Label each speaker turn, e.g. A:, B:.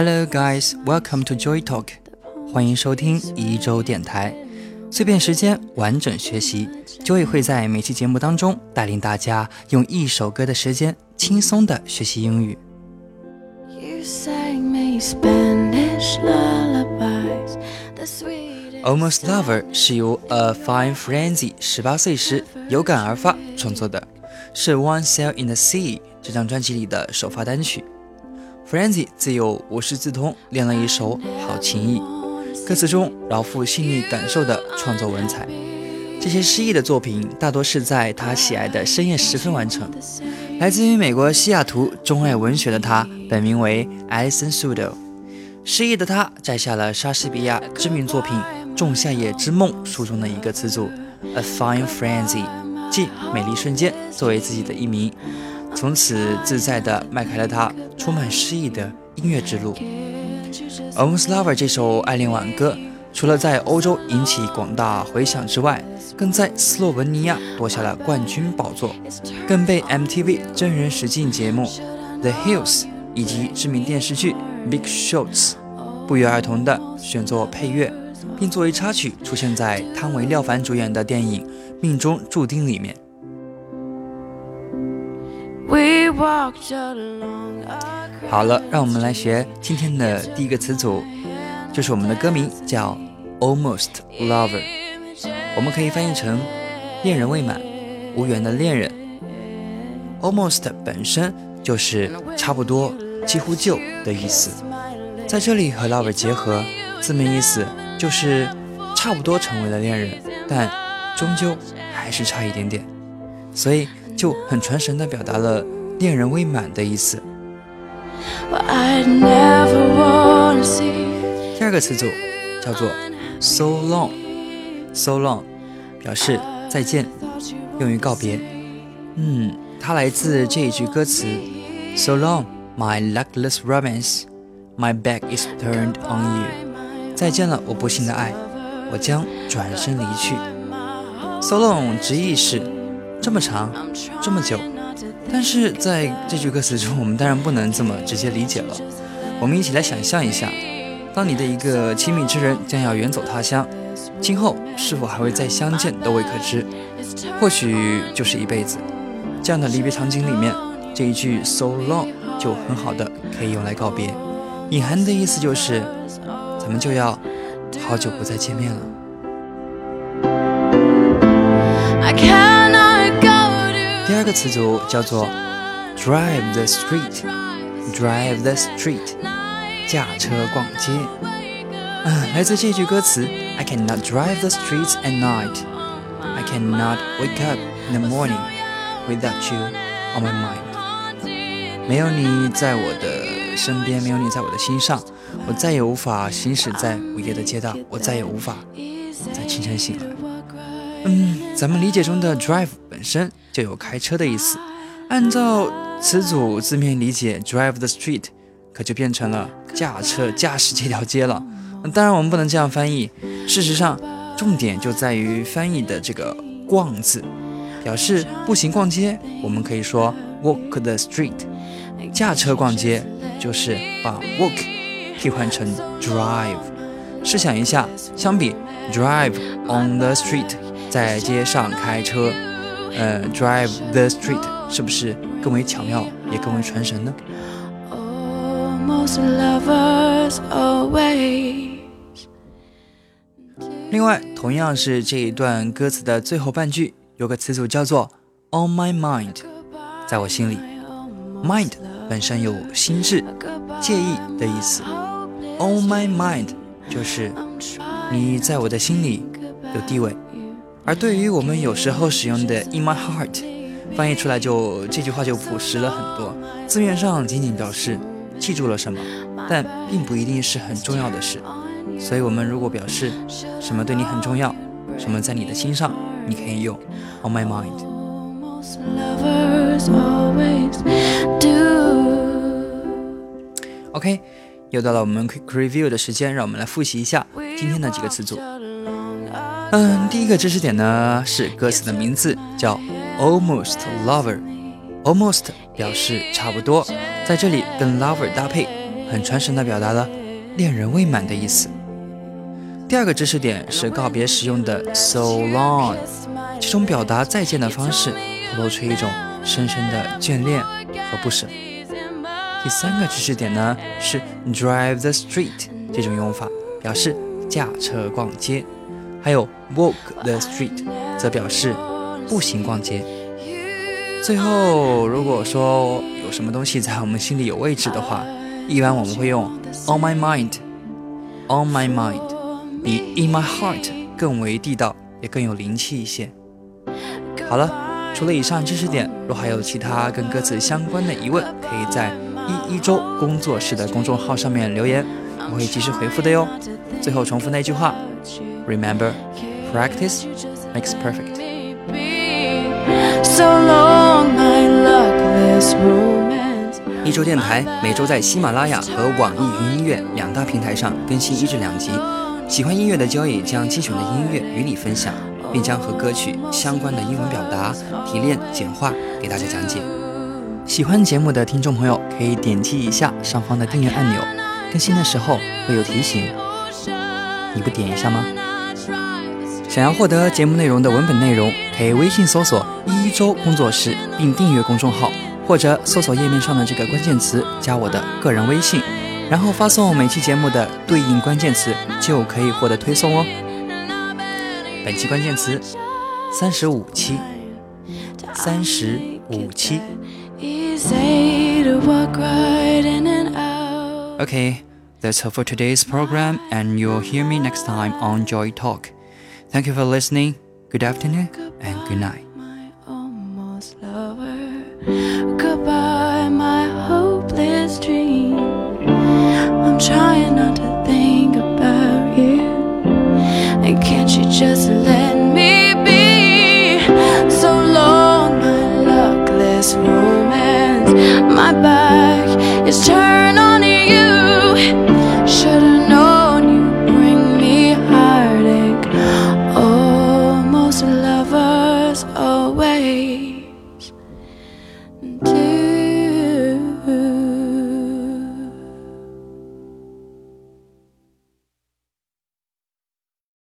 A: Hello guys, welcome to Joy Talk. 欢迎收听一周电台，碎片时间，完整学习。Joy 会在每期节目当中带领大家用一首歌的时间轻松的学习英语。Almost Lover 是由A Fine Frenzy 18岁时有感而发创作的，是 One Sail in the Sea 这张专辑里的首发单曲。Frenzy 自有无师自通练了一手好琴艺，歌词中饶富细腻感受的创作文采。这些诗意的作品大多是在他喜爱的深夜时分完成。来自于美国西雅图，钟爱文学的他本名为 Alison Sudol。诗意的他摘下了莎士比亚知名作品《仲夏夜之梦》书中的一个词组 A Fine Frenzy， 即美丽瞬间，作为自己的艺名，从此自在地迈开了他充满诗意的音乐之路。 Almost Lover 这首爱恋挽歌除了在欧洲引起广大回响之外，更在斯洛文尼亚夺下了冠军宝座，更被 MTV 真人实境节目 The Hills 以及知名电视剧 Big Shots 不约而同地选作配乐，并作为插曲出现在汤唯廖凡主演的电影《命中注定》里面。好了，让我们来学今天的第一个词组，就是我们的歌名叫 Almost Lover， 我们可以翻译成恋人未满，无缘的恋人。 Almost 本身就是差不多，几乎就的意思，在这里和 Lover 结合，字面意思就是差不多成为了恋人，但终究还是差一点点，所以就很传神地表达了恋人未满的意思。第二个词组叫做 So long， So long 表示再见，用于告别。它来自这一句歌词 So long, my luckless romance, my back is turned on you。 再见了，我不幸的爱，我将转身离去。 So long 直译是这么长，这么久，但是在这句歌词中，我们当然不能这么直接理解了。我们一起来想象一下，当你的一个亲密之人将要远走他乡，今后是否还会再相见都未可知，或许就是一辈子。这样的离别场景里面，这一句 so long 就很好的可以用来告别，隐含的意思就是咱们就要好久不再见面了。第二个词组叫做 drive the street， drive the street 驾车逛街。来自这句歌词 I cannot drive the streets at night， I cannot wake up in the morning without you on my mind。 没有你在我的身边，没有你在我的心上，我再也无法行驶在午夜的街道，我再也无法在清晨醒来。咱们理解中的 drive 本身就有开车的意思，按照词组字面理解 drive the street 可就变成了驾车驾驶这条街了。当然我们不能这样翻译，事实上重点就在于翻译的这个逛字，表示步行逛街我们可以说 walk the street， 驾车逛街就是把 walk 替换成 drive。 试想一下，相比 drive on the street 在街上开车drive the street 是不是更为巧妙也更为传神呢？另外同样是这一段歌词的最后半句，有个词组叫做 on my mind， 在我心里。 mind 本身有心智、介意的意思， on my mind 就是你在我的心里有地位。而对于我们有时候使用的 in my heart， 翻译出来就这句话就朴实了很多，字面上仅仅表示记住了什么，但并不一定是很重要的事。所以我们如果表示什么对你很重要，什么在你的心上，你可以用 on my mind。 OK， 又到了我们 quick review 的时间，让我们来复习一下今天的几个词组。第一个知识点呢是歌词的名字叫 Almost Lover。 Almost 表示差不多，在这里跟 Lover 搭配很传神地表达了恋人未满的意思。第二个知识点是告别时用的 so long， 这种表达再见的方式透露出一种深深的眷恋和不舍。第三个知识点呢是 drive the street， 这种用法表示驾车逛街，还有 walk the street 则表示步行逛街。最后，如果说有什么东西在我们心里有位置的话，一般我们会用 on my mind， on my mind 比 in my heart 更为地道，也更有灵气一些。好了，除了以上知识点，若还有其他跟歌词相关的疑问，可以在一周工作室的公众号上面留言，我会及时回复的哟。最后重复那句话 Remember, practice makes perfect。
B: So long, my luckless romance。
A: 一周电台每周在喜马拉雅和网易云音乐两大平台上更新1至2集。喜欢音乐的交易将精选的音乐与你分享，并将和歌曲相关的英文表达提炼简化给大家讲解。喜欢节目的听众朋友可以点击一下上方的订阅按钮，更新的时候会有提醒，你不点一下吗？想要获得节目内容的文本内容，可以微信搜索一周工作室并订阅公众号，或者搜索页面上的这个关键词加我的个人微信，然后发送每期节目的对应关键词就可以获得推送哦。本期关键词35期35期。 Okay, that's all for today's program, and you'll hear me next time on Joy Talk. Thank you for listening. Good afternoon and good night.